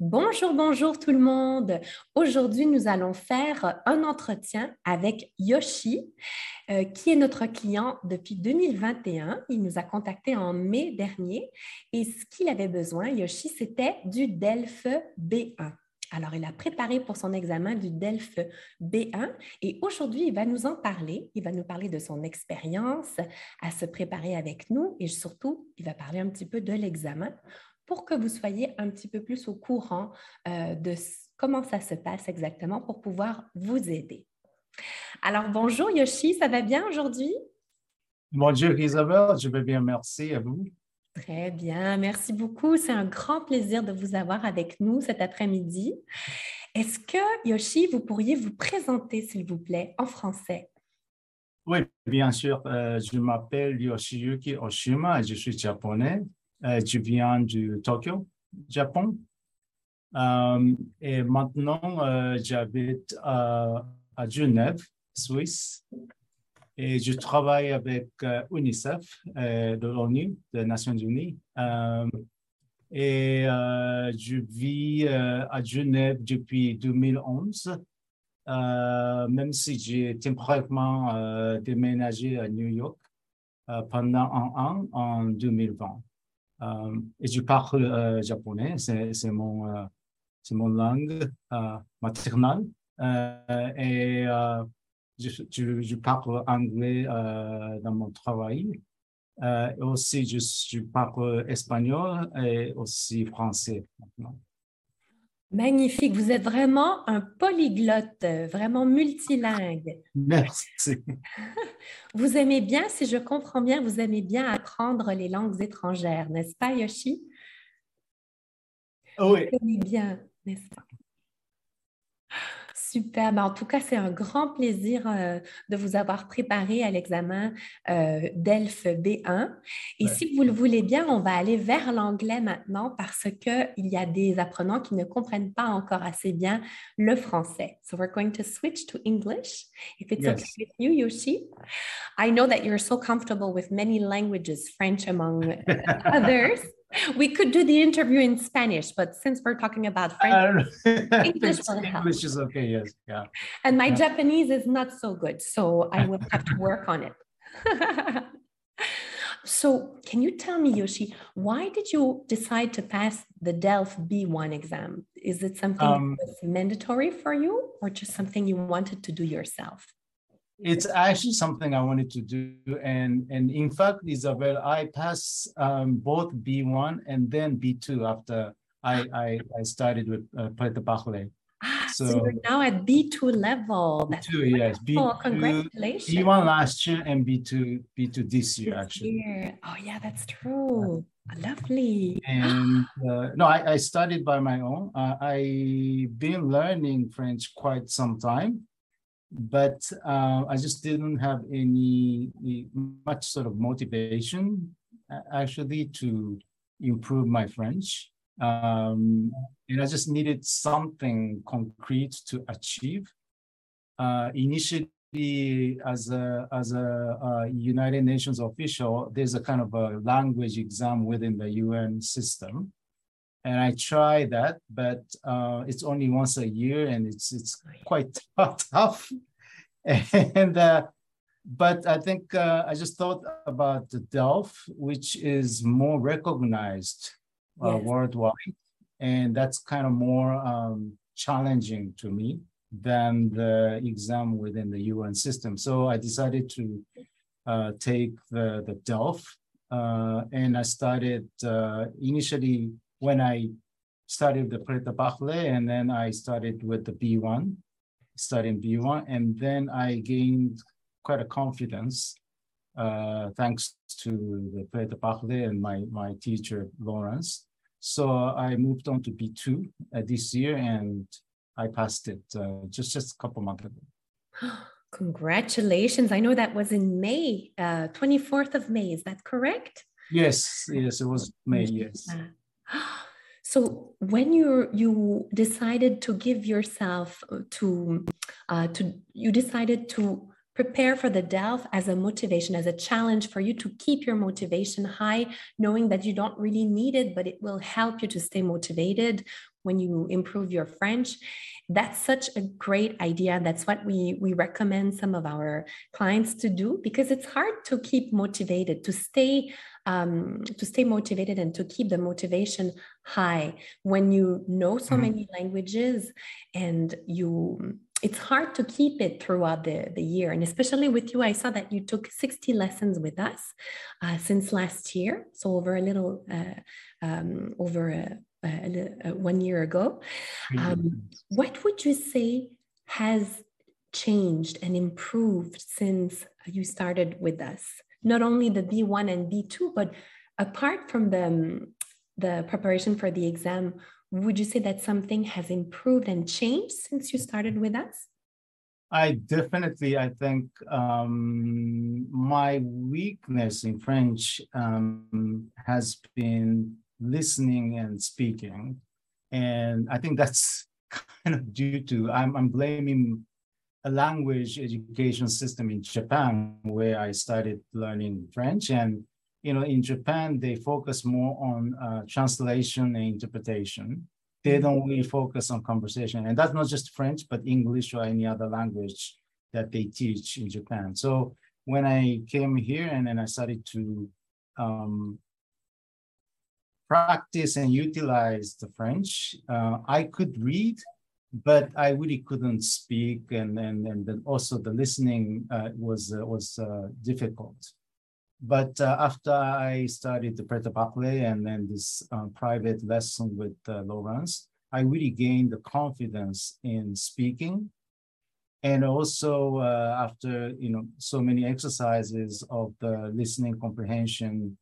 Bonjour, bonjour tout le monde. Aujourd'hui, nous allons faire un entretien avec Yoshi, qui est notre client depuis 2021. Il nous a contactés en mai dernier et ce qu'il avait besoin, Yoshi, c'était du DELF B1. Alors, il a préparé pour son examen du DELF B1 et aujourd'hui, il va nous en parler. Il va nous parler de son expérience à se préparer avec nous et surtout, il va parler un petit peu de l'examen pour que vous soyez un petit peu plus au courant de comment ça se passe exactement pour pouvoir vous aider. Alors, bonjour Yoshi, ça va bien aujourd'hui? Bonjour Isabelle, je vais bien, merci à vous. Très bien, merci beaucoup. C'est un grand plaisir de vous avoir avec nous cet après-midi. Est-ce que, Yoshi, vous pourriez vous présenter, s'il vous plaît, en français? Oui, bien sûr, je m'appelle Yoshiyuki Oshima, je suis japonais, je viens du Tokyo, Japon. Et maintenant, j'habite à Genève, Suisse, et je travaille avec UNICEF de l'ONU, des Nations Unies. Je vis à Genève depuis 2011. Même si j'ai temporairement déménagé à New York pendant un an en 2020. Et je parle japonais, c'est mon langue maternelle. Et je parle anglais dans mon travail. Et aussi, je parle espagnol et aussi français maintenant. Magnifique, vous êtes vraiment un polyglotte, vraiment multilingue. Merci. Vous aimez bien, si je comprends bien, vous aimez bien apprendre les langues étrangères, n'est-ce pas, Yoshi? Vous Oui. aimez bien, n'est-ce pas? Super. Ben, en tout cas, c'est un grand plaisir de vous avoir préparé à l'examen DELF B1. Et si vous le voulez bien, on va aller vers l'anglais maintenant parce qu'il y a des apprenants qui ne comprennent pas encore assez bien le français. So we're going to switch to English, if it's okay Yes. with you, Yoshi. I know that you're so comfortable with many languages, French among others. We could do the interview in Spanish, but since we're talking about French, English will help. English is okay, yes. Yeah. And my Yeah. Japanese is not so good, so I will have to work on it. So, can you tell me, Yoshi, why did you decide to pass the DELF B1 exam? Is it something that was mandatory for you or just something you wanted to do yourself? It's actually something I wanted to do. And in fact, Isabel, I passed both B1 and then B2 after I started with Preta Bachelor. So you're now at B2 level. That's B2, yes. wonderful. Congratulations. B1 last year and B2 this year, actually. Oh, yeah, that's true. Lovely. And no, I studied by my own. I've been learning French quite some time, but I just didn't have any much sort of motivation actually to improve my French. And I just needed something concrete to achieve. Initially, as a United Nations official, there's a kind of a language exam within the UN system. And I tried that, but it's only once a year, and it's quite tough. And but I think I just thought about the DELF, which is more recognized worldwide, and that's kind of more challenging to me than the exam within the UN system. So I decided to take the DELF, and I started initially when I started the Preta Bachelor, and then I started with the B1, studying B1, and then I gained quite a confidence thanks to the Preta Bachelor and my teacher, Lawrence. So I moved on to B2 this year, and I passed it just a couple months ago. Congratulations. I know that was in May, 24th of May. Is that correct? Yes, it was May, yes. So when you decided to give yourself you decided to prepare for the DELF as a motivation, as a challenge for you to keep your motivation high, knowing that you don't really need it, but it will help you to stay motivated when you improve your French. That's such a great idea. That's what we recommend some of our clients to do, because it's hard to keep motivated, to stay motivated and to keep the motivation high when you know so many languages, and it's hard to keep it throughout the year. And especially with you, I saw that you took 60 lessons with us since last year. So over 1 year ago. What would you say has changed and improved since you started with us? Not only the B1 and B2, but apart from the preparation for the exam, would you say that something has improved and changed since you started with us? I think my weakness in French has been listening and speaking. And I think that's kind of due to, I'm blaming a language education system in Japan, where I started learning French. And, in Japan, they focus more on translation and interpretation. They don't really focus on conversation. And that's not just French, but English or any other language that they teach in Japan. So when I came here and then I started to practice and utilize the French, I could read, but I really couldn't speak. And then also the listening was difficult. But after I started the prêt-à-parler and then this private lesson with Laurence, I really gained the confidence in speaking. And also after so many exercises of the listening comprehension,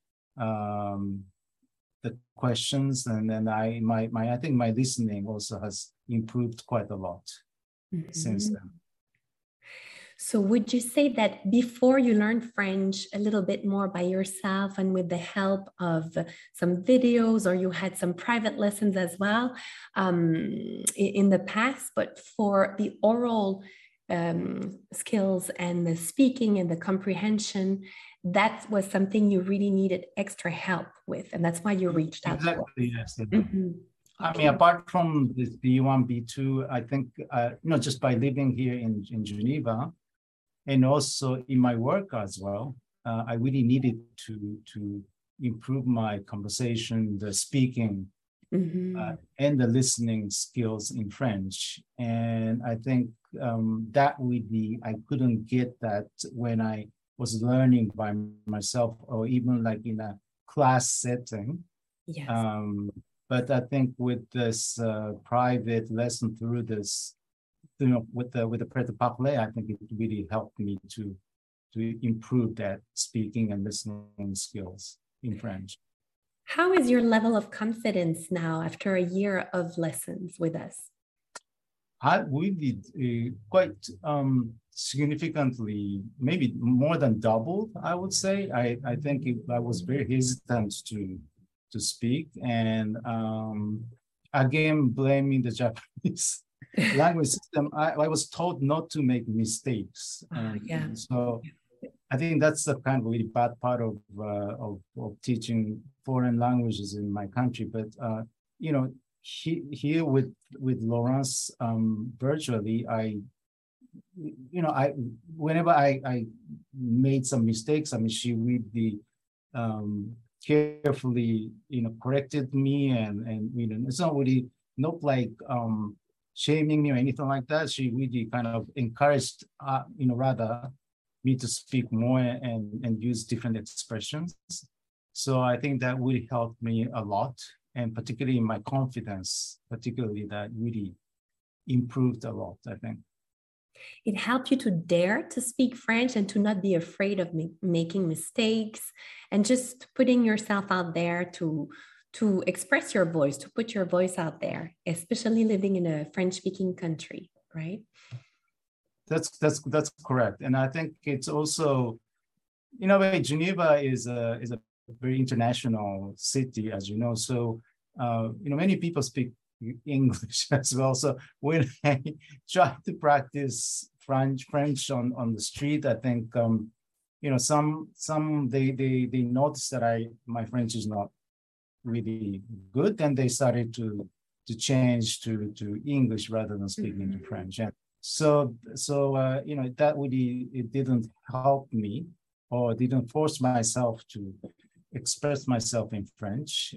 the questions, and then I think my listening also has improved quite a lot since then. So would you say that before you learned French a little bit more by yourself and with the help of some videos, or you had some private lessons as well in the past, but for the oral skills and the speaking and the comprehension, that was something you really needed extra help with, and that's why you reached out? Exactly, yes. I mean, apart from this B1, B2, I think, just by living here in Geneva, and also in my work as well, I really needed to improve my conversation, the speaking, and the listening skills in French. And I think that I couldn't get that when I was learning by myself, or even like in a class setting. Yes. But I think with this private lesson through this, with the prêt-à-parler, I think it really helped me to improve that speaking and listening skills in French. How is your level of confidence now after a year of lessons with us? We did quite significantly, maybe more than doubled, I would say. I think I was very hesitant to speak, and again, blaming the Japanese language system. I was told not to make mistakes, and so I think that's the kind of really bad part of teaching foreign languages in my country. But here with Laurence virtually, whenever I made some mistakes, I mean, she really carefully corrected me, and it's not really not like shaming me or anything like that. She really kind of encouraged rather me to speak more and use different expressions. So I think that really helped me a lot, and particularly in my confidence, particularly that really improved a lot, I think. It helped you to dare to speak French and to not be afraid of making mistakes, and just putting yourself out there to express your voice, to put your voice out there, especially living in a French-speaking country, right? That's correct. And I think it's also, in a way, Geneva is a very international city, as you know. So, many people speak English as well. So when I try to practice French on the street, I think some they noticed that my French is not really good, then they started to change to English rather than speaking to French. And so that really, it didn't help me, or didn't force myself to express myself in French.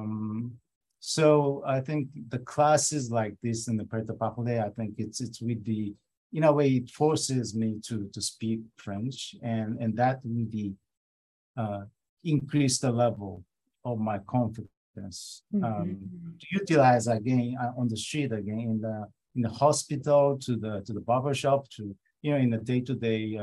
So I think the classes like this in the Prêt-à-Parler, I think it's with the, in a way, it forces me to speak French, and that really increased the level of my confidence to utilize again on the street, again in the hospital, to the barber shop, to in the day-to-day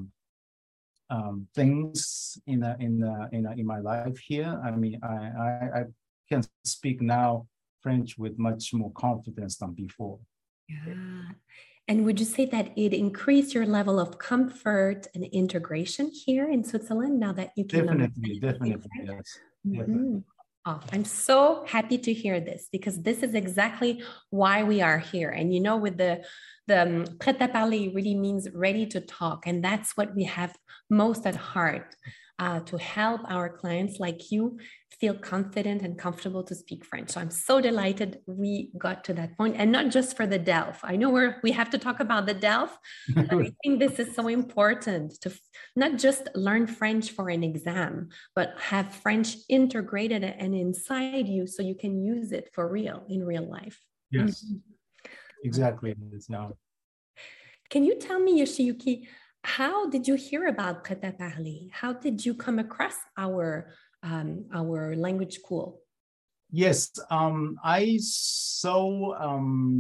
things in my life here. I mean, I can speak now French with much more confidence than before. Yeah. And would you say that it increased your level of comfort and integration here in Switzerland now that you can? Definitely, yes. Definitely. Oh, I'm so happy to hear this, because this is exactly why we are here. And with the Prêt-à-Parler really means ready to talk. And that's what we have most at heart, to help our clients like you feel confident and comfortable to speak French. So I'm so delighted we got to that point, and not just for the DELF. I know we have to talk about the DELF, but I think this is so important to not just learn French for an exam, but have French integrated and inside you so you can use it for real in real life. Yes, exactly. Can you tell me, Yoshiyuki, how did you hear about Prêt-à-Parler? How did you come across our language school? Yes, I saw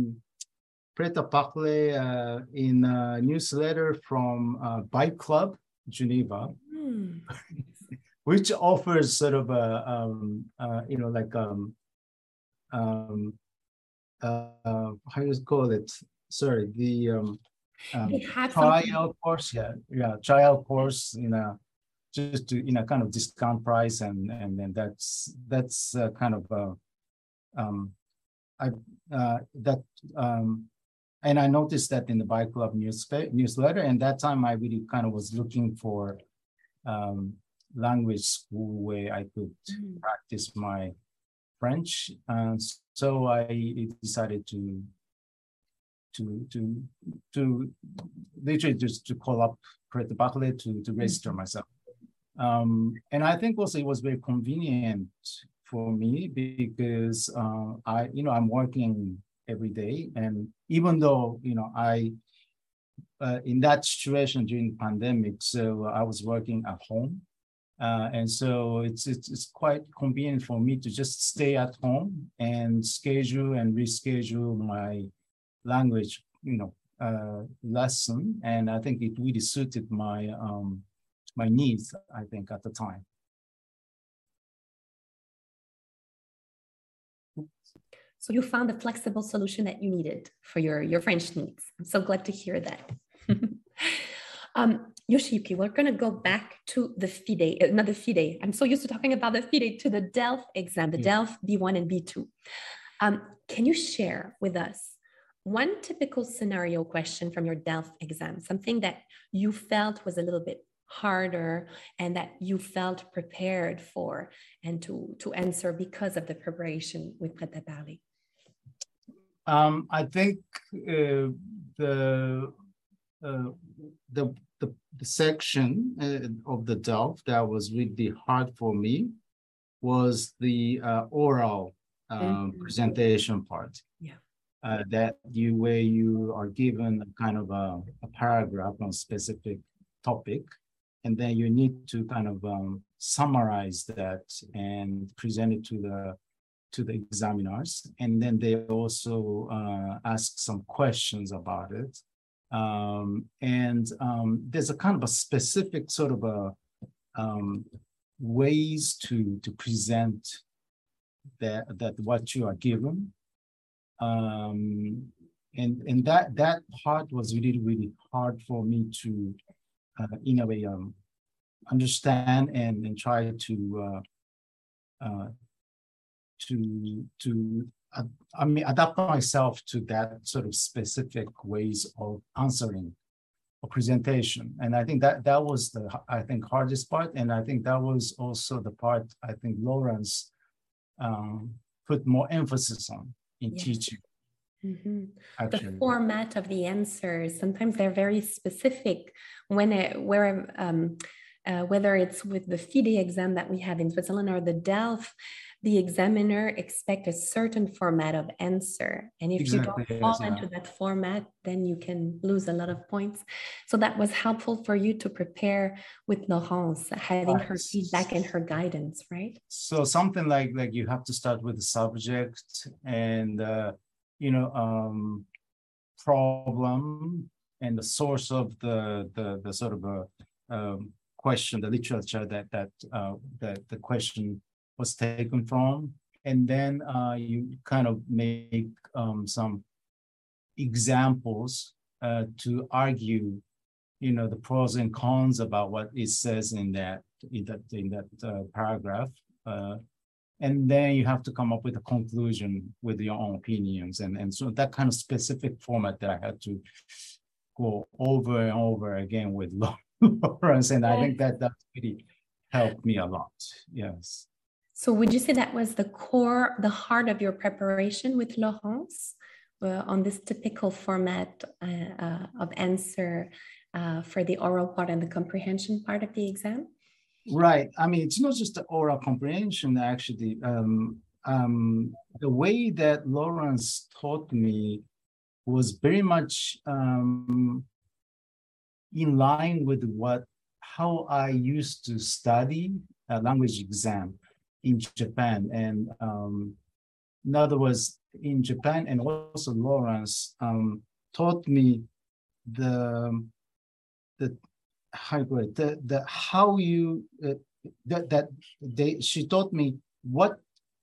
Prêt-à-Parler in a newsletter from Bike Club Geneva, which offers sort of a how do you call it? Sorry, the trial course, trial course just to kind of discount price, and then that's kind of and I noticed that in the Bike Club newsletter, and that time I really kind of was looking for language school where I could practice my French, and so I decided to literally just to call up Prêt-à-Parler to register myself. And I think also it was very convenient for me, because I'm working every day, and even though I in that situation during the pandemic, so I was working at home, and so it's quite convenient for me to just stay at home and schedule and reschedule my language lesson, and I think it really suited my my needs, I think, at the time. So you found the flexible solution that you needed for your French needs. I'm so glad to hear that. Yoshiyuki, we're going to go back to the FIDE, not the FIDE. I'm so used to talking about the FIDE, to the DELF exam, the DELF B1 and B2. Can you share with us one typical scenario question from your DELF exam, something that you felt was a little bit harder and that you felt prepared for and to answer because of the preparation with Prêt-à-Parler? I think the section of the DELF that was really hard for me was the oral presentation part. Yeah. Where you are given a kind of a paragraph on a specific topic, and then you need to kind of summarize that and present it to the examiners, and then they also ask some questions about it, and there's a kind of a specific sort of a ways to present that what you are given. And that part was really hard for me to in a way understand and try to adapt myself to that sort of specific ways of answering a presentation. And I think that was the, I think, hardest part. And I think that was also the part I think Lawrence put more emphasis on in teaching. Mm-hmm. The format of the answers, sometimes they're very specific whether it's with the FIDE exam that we have in Switzerland or the DELF, the examiner expects a certain format of answer. And if you don't fall into that format, then you can lose a lot of points. So that was helpful for you to prepare with Laurence, having her feedback and her guidance, right? So something like you have to start with the subject and problem and the source of the sort of question, the literature that the question was taken from, and then you kind of make some examples to argue, the pros and cons about what it says in that paragraph. And then you have to come up with a conclusion with your own opinions. And so that kind of specific format that I had to go over and over again with Lawrence. And I think that really helped me a lot. Yes. So would you say that was the core, the heart of your preparation with Laurence on this typical format of answer for the oral part and the comprehension part of the exam? Right. I mean, it's not just the oral comprehension, actually. The way that Lawrence taught me was very much in line with how I used to study a language exam in Japan. And in other words, in Japan, and also Lawrence taught me she taught me what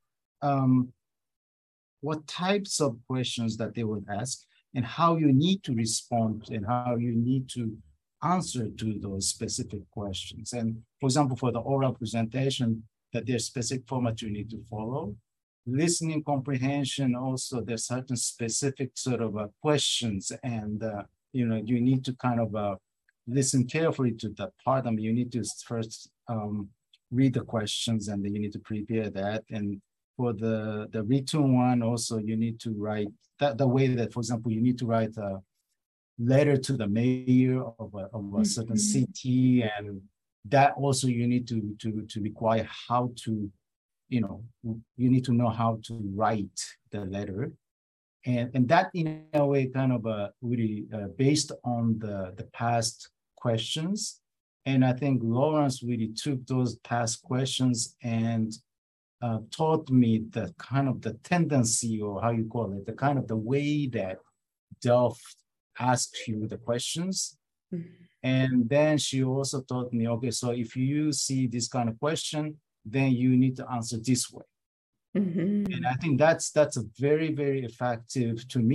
types of questions that they would ask and how you need to respond and how you need to answer to those specific questions. And for example, for the oral presentation, that there's specific format you need to follow. Listening comprehension, also there's certain specific sort of questions, and you need to kind of listen carefully to that part. I mean, you need to first read the questions, and then you need to prepare that. And for the written one, also you need to write the way that, for example, you need to write a letter to the mayor of a certain city, and that also you need to require how to, you need to know how to write the letter. And that in a way kind of really based on the past questions. And I think Lawrence really took those past questions and taught me the kind of the tendency, or how you call it, the kind of the way that Delft asks you the questions. And then she also taught me, okay, so if you see this kind of question, then you need to answer this way. And I think that's a very, very effective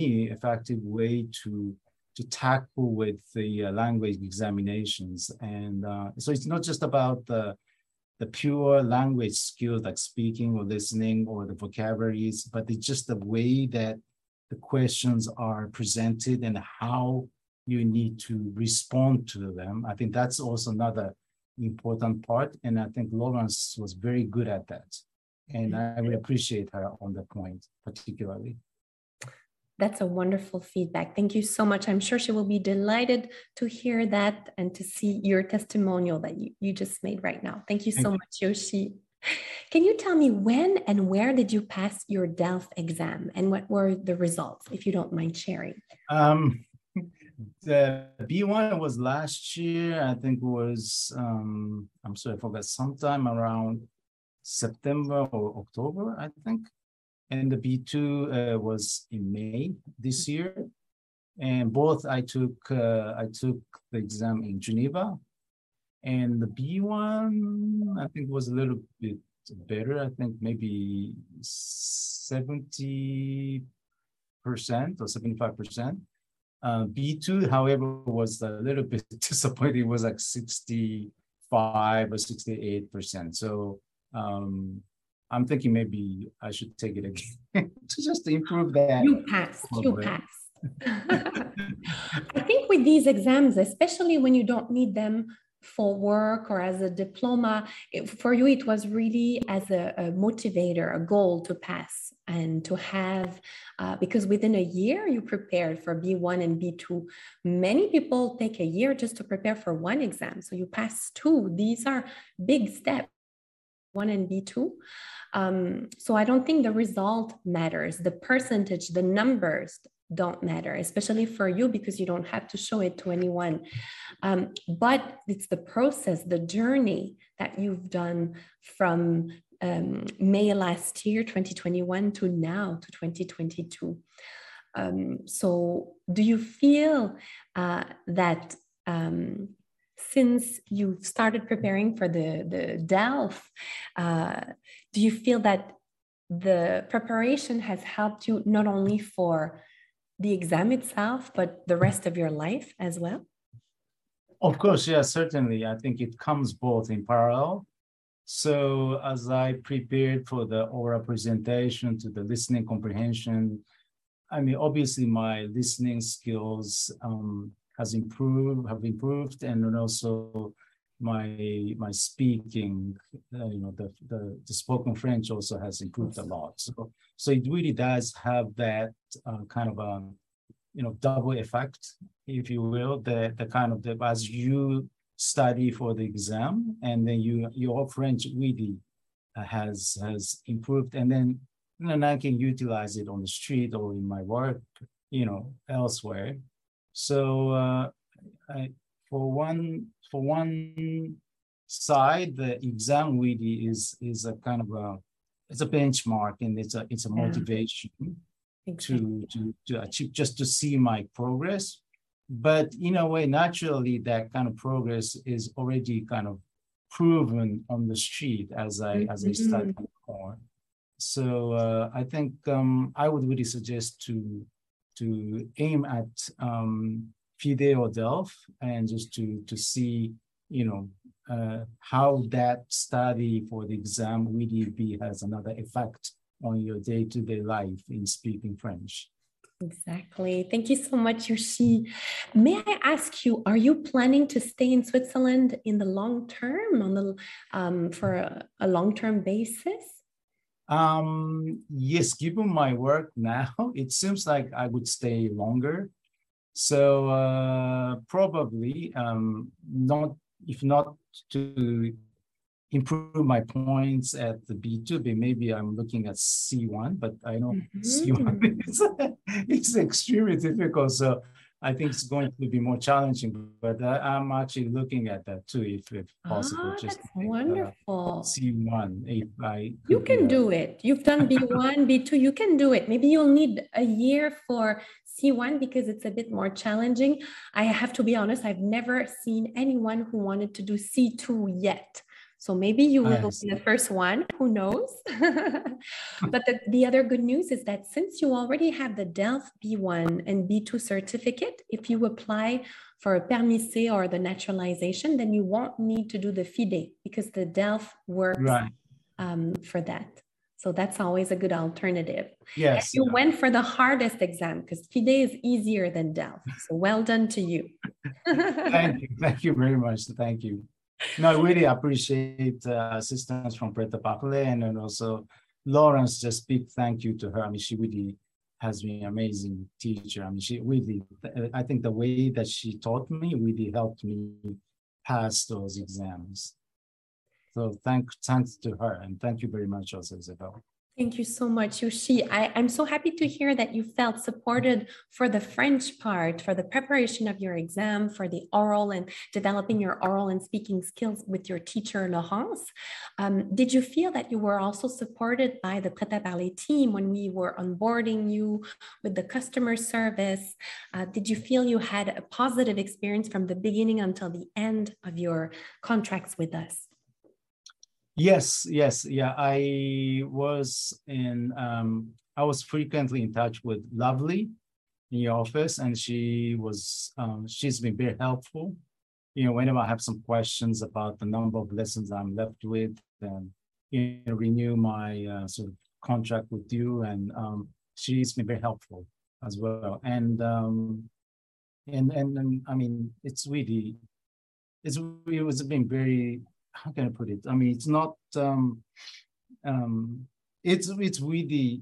way to tackle with the language examinations. And so it's not just about the pure language skills like speaking or listening or the vocabularies, but it's just the way that the questions are presented and how you need to respond to them. I think that's also another important part. And I think Lawrence was very good at that. And I would appreciate her on that point, particularly. That's a wonderful feedback. Thank you so much. I'm sure she will be delighted to hear that and to see your testimonial that you just made right now. Thank you so much, Yoshi. Can you tell me when and where did you pass your DELF exam, and what were the results, if you don't mind sharing? The B1 was last year. I think it was, I'm sorry, I forgot, sometime around September or October, I think. And the B2 was in May this year. And both I took the exam in Geneva. And the B1, I think, was a little bit better. I think maybe 70% or 75%. B2, however, was a little bit disappointing. It was like 65 or 68%. So I'm thinking maybe I should take it again to just improve that. You passed. I think with these exams, especially when you don't need them for work or as a diploma, for you, it was really as a motivator, a goal to pass and to have, because within a year you prepared for B1 and B2. Many people take a year just to prepare for one exam. So you pass two. These are big steps, one and B2. So I don't think the result matters. The percentage, the numbers don't matter, especially for you because you don't have to show it to anyone. But it's the process, the journey that you've done from May last year, 2021, to now, to 2022. So do you feel that since you started preparing for the DELF, do you feel that the preparation has helped you not only for the exam itself, but the rest of your life as well? Of course, yeah, certainly. I think it comes both in parallel. So as I prepared for the oral presentation to the listening comprehension, I mean, obviously my listening skills have improved, and then also my speaking, the spoken French also has improved a lot. So it really does have that kind of a double effect, if you will, the kind of as you study for the exam, and then your French really has improved, and then I can utilize it on the street or in my work, elsewhere. So for one side, the exam really is a kind of it's a benchmark, and it's a motivation to achieve, just to see my progress. But in a way, naturally, that kind of progress is already kind of proven on the street as I study more. So I think I would really suggest to aim at FIDE or DELF, and just to see how that study for the exam really has another effect on your day-to-day life in speaking French. Exactly. Thank you so much, Yoshi. May I ask you, are you planning to stay in Switzerland in the long term, for a long-term basis? Yes, given my work now, it seems like I would stay longer. So probably not, if not to improve my points at the B2, but maybe I'm looking at C1, but I know C1 it's extremely difficult. So I think it's going to be more challenging, but I'm actually looking at that too, if possible. Just that's wonderful. C1, if I could. You can do it. You've done B1, B2, you can do it. Maybe you'll need a year for C1 because it's a bit more challenging. I have to be honest, I've never seen anyone who wanted to do C2 yet. So maybe you will be the first one, who knows? But the other good news is that since you already have the DELF B1 and B2 certificate, if you apply for a permis C or the naturalization, then you won't need to do the FIDE because the DELF works for that. So that's always a good alternative. Yes. And you went for the hardest exam because FIDE is easier than DELF. So well done to you. Thank you. Thank you very much. Thank you. No, I really appreciate assistance from Preta Pakle, and then also Lawrence. Just big thank you to her. I mean, she really has been an amazing teacher. I mean, she really, I think the way that she taught me really helped me pass those exams. So thanks to her, and thank you very much also, Isabel. Thank you so much, Yoshi. I'm so happy to hear that you felt supported for the French part, for the preparation of your exam, for the oral and developing your oral and speaking skills with your teacher, Laurence. Did you feel that you were also supported by the Prêt à Parler team when we were onboarding you with the customer service? Did you feel you had a positive experience from the beginning until the end of your contracts with us? Yes. Yeah, I was frequently in touch with Lovely in your office, and she's been very helpful. Whenever I have some questions about the number of lessons I'm left with, and renew my sort of contract with you, and she's been very helpful. as well. And I mean, it's really, it was been very, how can I put it? I mean, it's not, it's really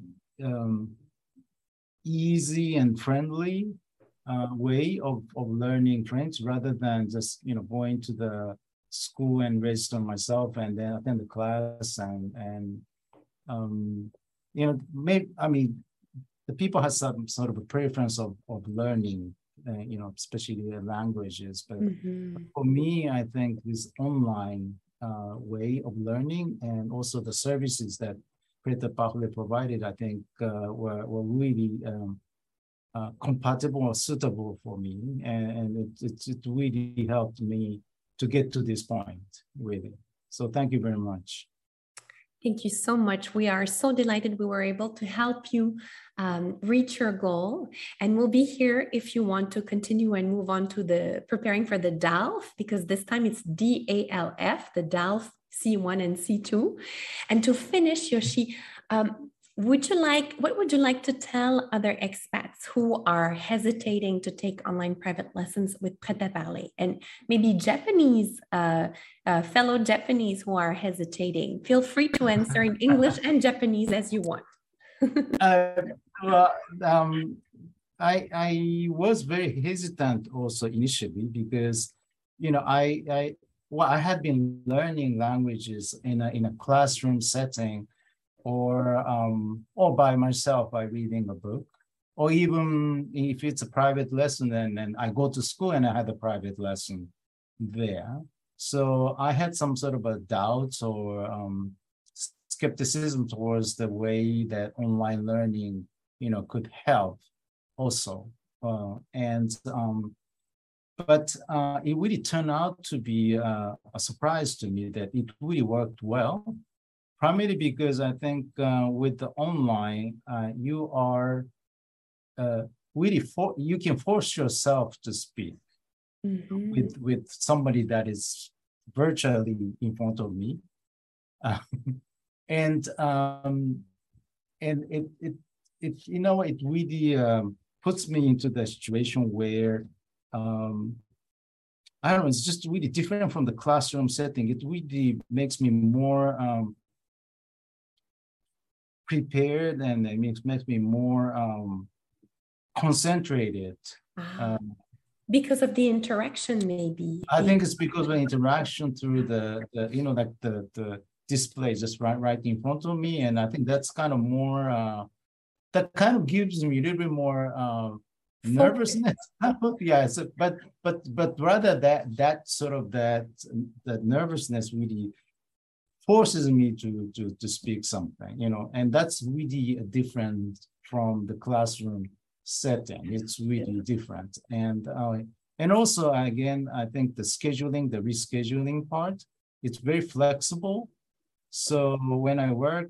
easy and friendly way of learning French rather than just, you know, going to the school and register myself and then attend the class and you know, maybe, I mean, the people have some sort of a preference of learning, you know, especially the languages. But for me, I think this online way of learning and also the services that Prêt à Parler provided, I think were really compatible or suitable for me. And it really helped me to get to this point, really. So thank you very much. Thank you so much. We are so delighted we were able to help you reach your goal. And we'll be here if you want to continue and move on to the preparing for the DALF, because this time it's DALF, the DALF C1 and C2. And to finish, Yoshi, what would you like to tell other expats who are hesitating to take online private lessons with Prêt à Parler, and maybe Japanese, fellow Japanese who are hesitating? Feel free to answer in English and Japanese as you want. Well, I was very hesitant also initially because, you know, I had been learning languages in a classroom setting, or by myself by reading a book, or even if it's a private lesson, then I go to school and I had a private lesson there. So I had some sort of a doubt or skepticism towards the way that online learning, you know, could help also. But it really turned out to be a surprise to me that it really worked well. Primarily because I think with the online, you are really you can force yourself to speak with somebody that is virtually in front of me, and it you know, it really puts me into the situation where I don't know, it's just really different from the classroom setting. It really makes me more prepared, and it makes me more concentrated. Because of the interaction, maybe. I think it's because of the interaction through the you know, like the display just right in front of me, and I think that's kind of more that kind of gives me a little bit more nervousness. Yeah, so, but rather that sort of that nervousness really forces me to speak something, you know, and that's really different from the classroom setting. It's really different. And also, again, I think the rescheduling part, it's very flexible. So when I work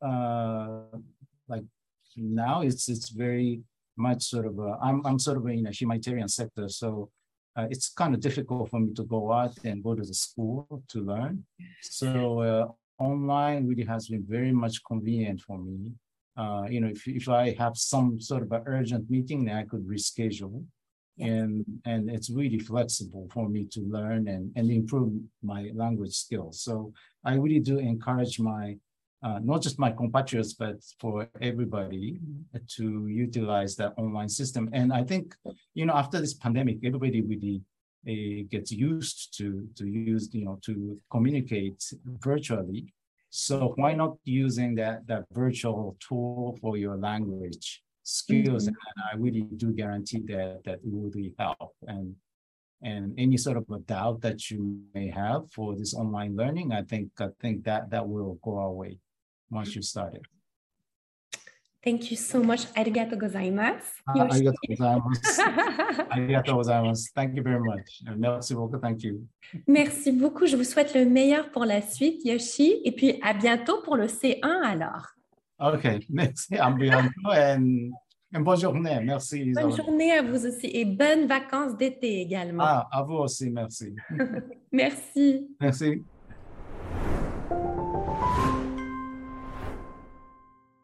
like now, it's very much sort of I'm sort of in a humanitarian sector, so it's kind of difficult for me to go out and go to the school to learn. So online really has been very much convenient for me. You know, if I have some sort of an urgent meeting, then I could reschedule. Yes. And it's really flexible for me to learn and improve my language skills. So I really do encourage my not just my compatriots, but for everybody to utilize that online system. And I think, you know, after this pandemic, everybody really gets used to use, you know, to communicate virtually. So why not using that virtual tool for your language skills? And I really do guarantee that it will really help. And any sort of a doubt that you may have for this online learning, I think that will go away once you start it. Thank you so much. Arigatou gozaimasu. Arigatou gozaimasu. Arigatou gozaimasu. Thank you very much. Merci beaucoup. Thank you. Merci beaucoup. Je vous souhaite le meilleur pour la suite, Yoshi. Et puis, à bientôt pour le C1 alors. OK. Merci. À bientôt et bonne journée. Merci, Isabelle. Bonne journée à vous aussi et bonnes vacances d'été également. À vous aussi. Merci. Merci. Merci.